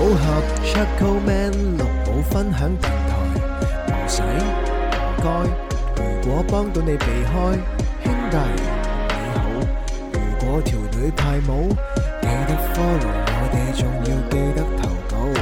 武俠 Chuckle Man 綠帽分享平台，唔使唔該，如果幫到你避開，兄弟你好。如果條女派舞，記得 follow 我哋，仲要記得投稿。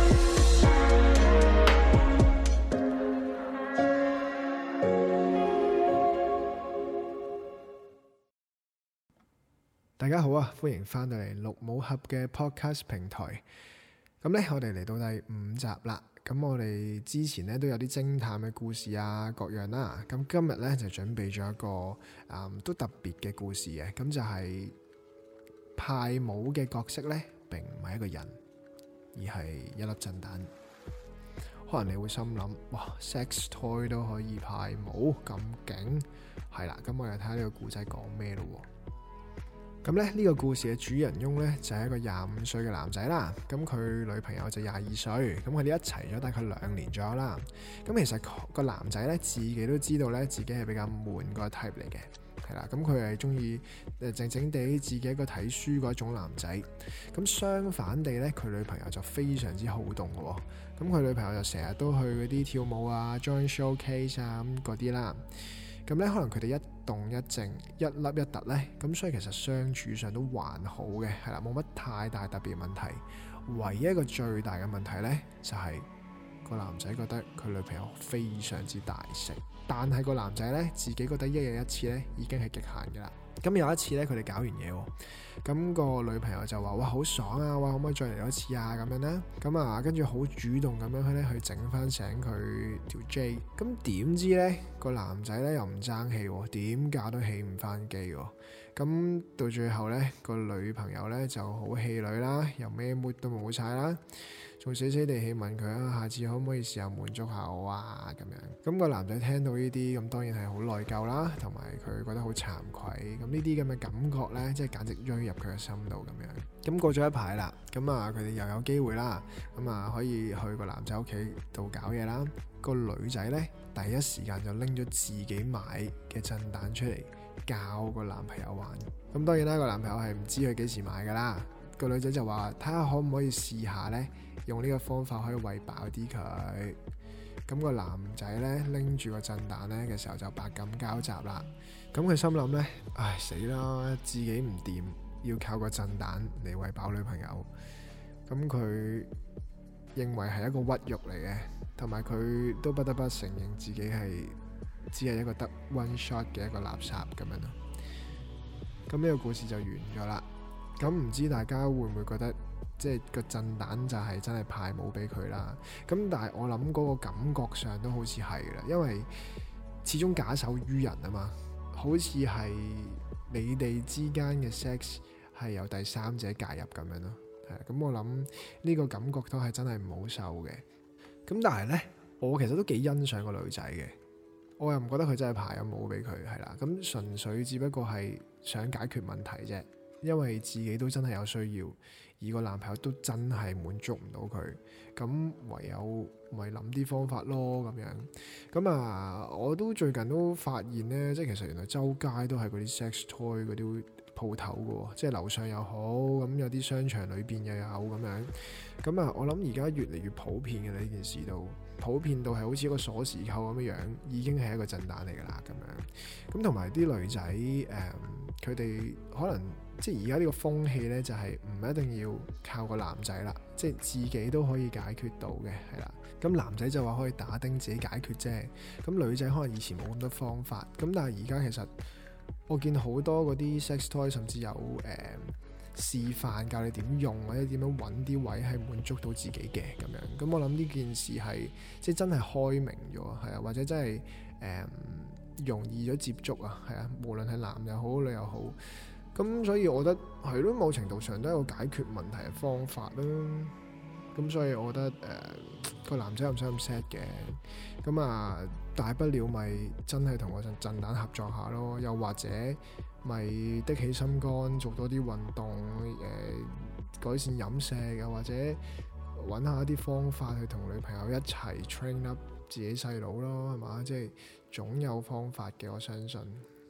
大家好啊，歡迎翻到嚟綠帽俠嘅 podcast 平台。咁呢，我哋嚟到第5集啦。咁我哋之前呢都有啲偵探嘅故事啊，各樣啦。咁今日呢就準備咗一個都特別嘅故事嘅。咁就係派舞嘅角色呢，並唔係一個人，而係一粒震彈。可能你會心諗，哇 ，sex toy 都可以派舞咁勁，係啦。咁我哋睇下呢個故仔講咩咯。咁咧呢個故事嘅主人翁呢，就係一個25歲嘅男仔啦。咁佢女朋友就22歲，咁佢哋一齊咗大概2年左右啦。咁其實個男仔呢，自己都知道呢，自己係比較悶個 type 嚟嘅，係啦。咁佢係中意靜靜地自己一個睇書嗰種男仔。咁相反地呢，佢女朋友就非常之好動嘅喎。咁佢女朋友就成日都去嗰啲跳舞啊、join showcase 啊咁嗰啲啦。咁咧，可能佢哋一動一靜，一凹一凸咧，咁所以其實相處上都還好嘅，係啦，冇乜太大特別問題。唯一一個最大嘅問題咧，就係個男仔覺得佢女朋友非常之大食，但係個男仔咧自己覺得一日一次咧已經係極限嘅啦。咁有一次咧，佢哋搞完嘢喎，咁個女朋友就話：哇，好爽啊！哇，可唔可以再嚟多次啊？咁樣啦，咁啊，跟住好主動咁樣去整翻醒佢條 J。咁點知咧個男仔咧又唔爭氣喎，點搞都起唔翻機喎。咁到最後咧個女朋友咧就好氣餒啦，又咩 mood 都冇晒啦，仲死死地氣問佢啊，下次可唔可以試下滿足下我啊？咁樣。咁個男仔聽到呢啲，咁當然係好內疚啦，同埋佢覺得好慚愧。咁呢啲咁嘅感覺咧，即係簡直錐入佢嘅心度咁樣。咁過咗一排啦，咁啊佢哋又有機會啦，咁啊可以去個男仔屋企度搞嘢啦。個女仔咧第一時間就拎咗自己買嘅震彈出嚟教個男朋友玩。咁當然啦，個男朋友係唔知佢幾時買噶啦。個女仔就話睇下可唔可以試下咧，用呢個方法可以餵飽啲佢。咁個男仔咧拎住個震彈咧嘅時候就百感交集啦。咁佢心諗咧，唉死啦，自己唔掂，要靠個震彈嚟餵飽女朋友。咁佢認為係一個屈辱嚟嘅，同埋佢都不得不承認自己係只係一個得 one shot 嘅一個垃圾咁樣咯。咁呢個故事就完咗啦。咁唔知大家會唔會覺得即係個震彈就係真係派舞俾佢啦？咁但係我諗嗰個感覺上都好似係啦，因為始終假手於人啊嘛，好似係你哋之間嘅 sex 係由第三者介入咁樣咯。係咁，我諗呢個感覺都係真係唔好受嘅。咁但係呢，我其實都幾欣賞個女仔嘅，我又唔覺得佢真係派咗舞俾佢，係啦。咁純粹只不過係想解決問題啫。因為自己都真係有需要，而個男朋友都真係滿足唔到佢，咁唯有咪諗啲方法咯咁樣。咁啊，我都最近都發現呢，即係其實原來周街都係嗰啲 sex toy 嗰啲鋪頭嘅，即係樓上又好，咁有啲商場裏邊又有咁樣。咁啊，我諗而家越嚟越普遍嘅呢件事都普遍到係好似一個鎖匙扣咁樣，已經係一個震彈嚟㗎啦咁樣。咁同埋啲女仔佢哋可能即係而家呢個風氣呢，就係唔一定要靠個男仔啦，即係自己都可以解決到嘅，係啦。咁男仔就話可以打釘自己解決啫。咁女仔可能以前冇咁多方法，咁但係而家其實我見好多嗰啲 sex toy 甚至有示範教你點用或者點樣揾啲位係滿足到自己嘅咁樣。咁我諗呢件事係即係真係開明咗，係啊，或者真係容易咗接觸啊，係啊，無論係男又好女又好。咁所以我覺得係咯，某程度上都係一個解決問題嘅方法啦。咁所以我覺得個男仔唔使咁 sad 嘅。咁啊，大不了咪真係同個震彈合作下咯，又或者咪的起心肝做多啲運動，改善飲食，又或者揾下一啲方法去同女朋友一齊 train up 自己細佬咯，係嘛？即係總有方法嘅，我相信。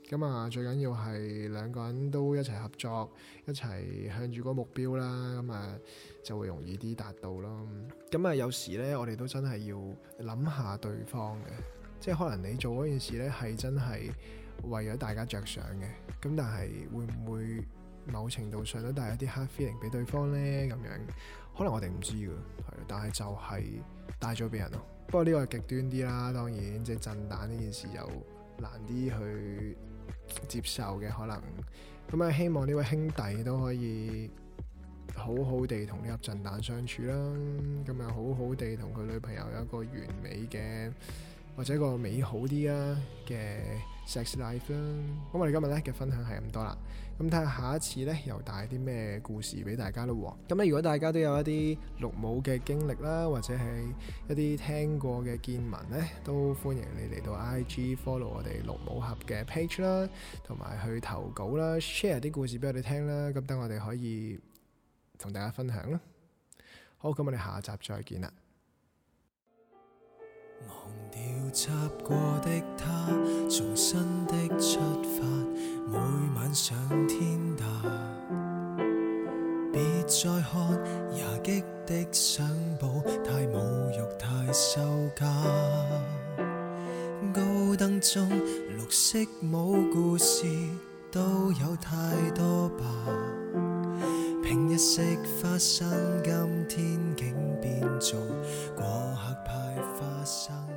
咁啊，最緊要係兩個人都一齊合作，一齊向住嗰個目標啦，咁啊就會容易啲達到咯。咁啊，有時呢，我哋都真係要諗下對方嘅，即係可能你做嗰件事呢係真係為咗大家着想嘅，咁但係會唔會某程度上都帶一啲 hard feeling 俾對方呢？咁樣可能我哋唔知㗎，係，但係就係帶咗俾人咯。不過呢個係極端啲啦，當然即係震蛋呢件事就難啲去接受嘅可能。咁啊，希望呢位兄弟都可以好好地同呢粒震蛋相處啦。咁啊，好好地同佢女朋友有一個完美嘅或者一個美好啲嘅 sex life 啦。咁我哋今日咧嘅分享係咁多啦。咁睇下下一次咧又帶啲咩故事俾大家咯。咁咧如果大家都有一啲綠帽嘅經歷啦，或者係一啲聽過嘅見聞咧，都歡迎你嚟到 IG follow 我哋綠帽俠嘅 page 啦，同埋去投稿啦 ，share 啲故事俾我哋聽啦。咁等我哋可以同大家分享啦。好，咁我哋下集再見啦。 忘掉習過的他，重新的出發，每晚上天大。別再看牙擊的相簿，太侮辱太羞家。高燈中綠色冇故事，都有太多吧。平日食花生，今天竟變做過客派花生。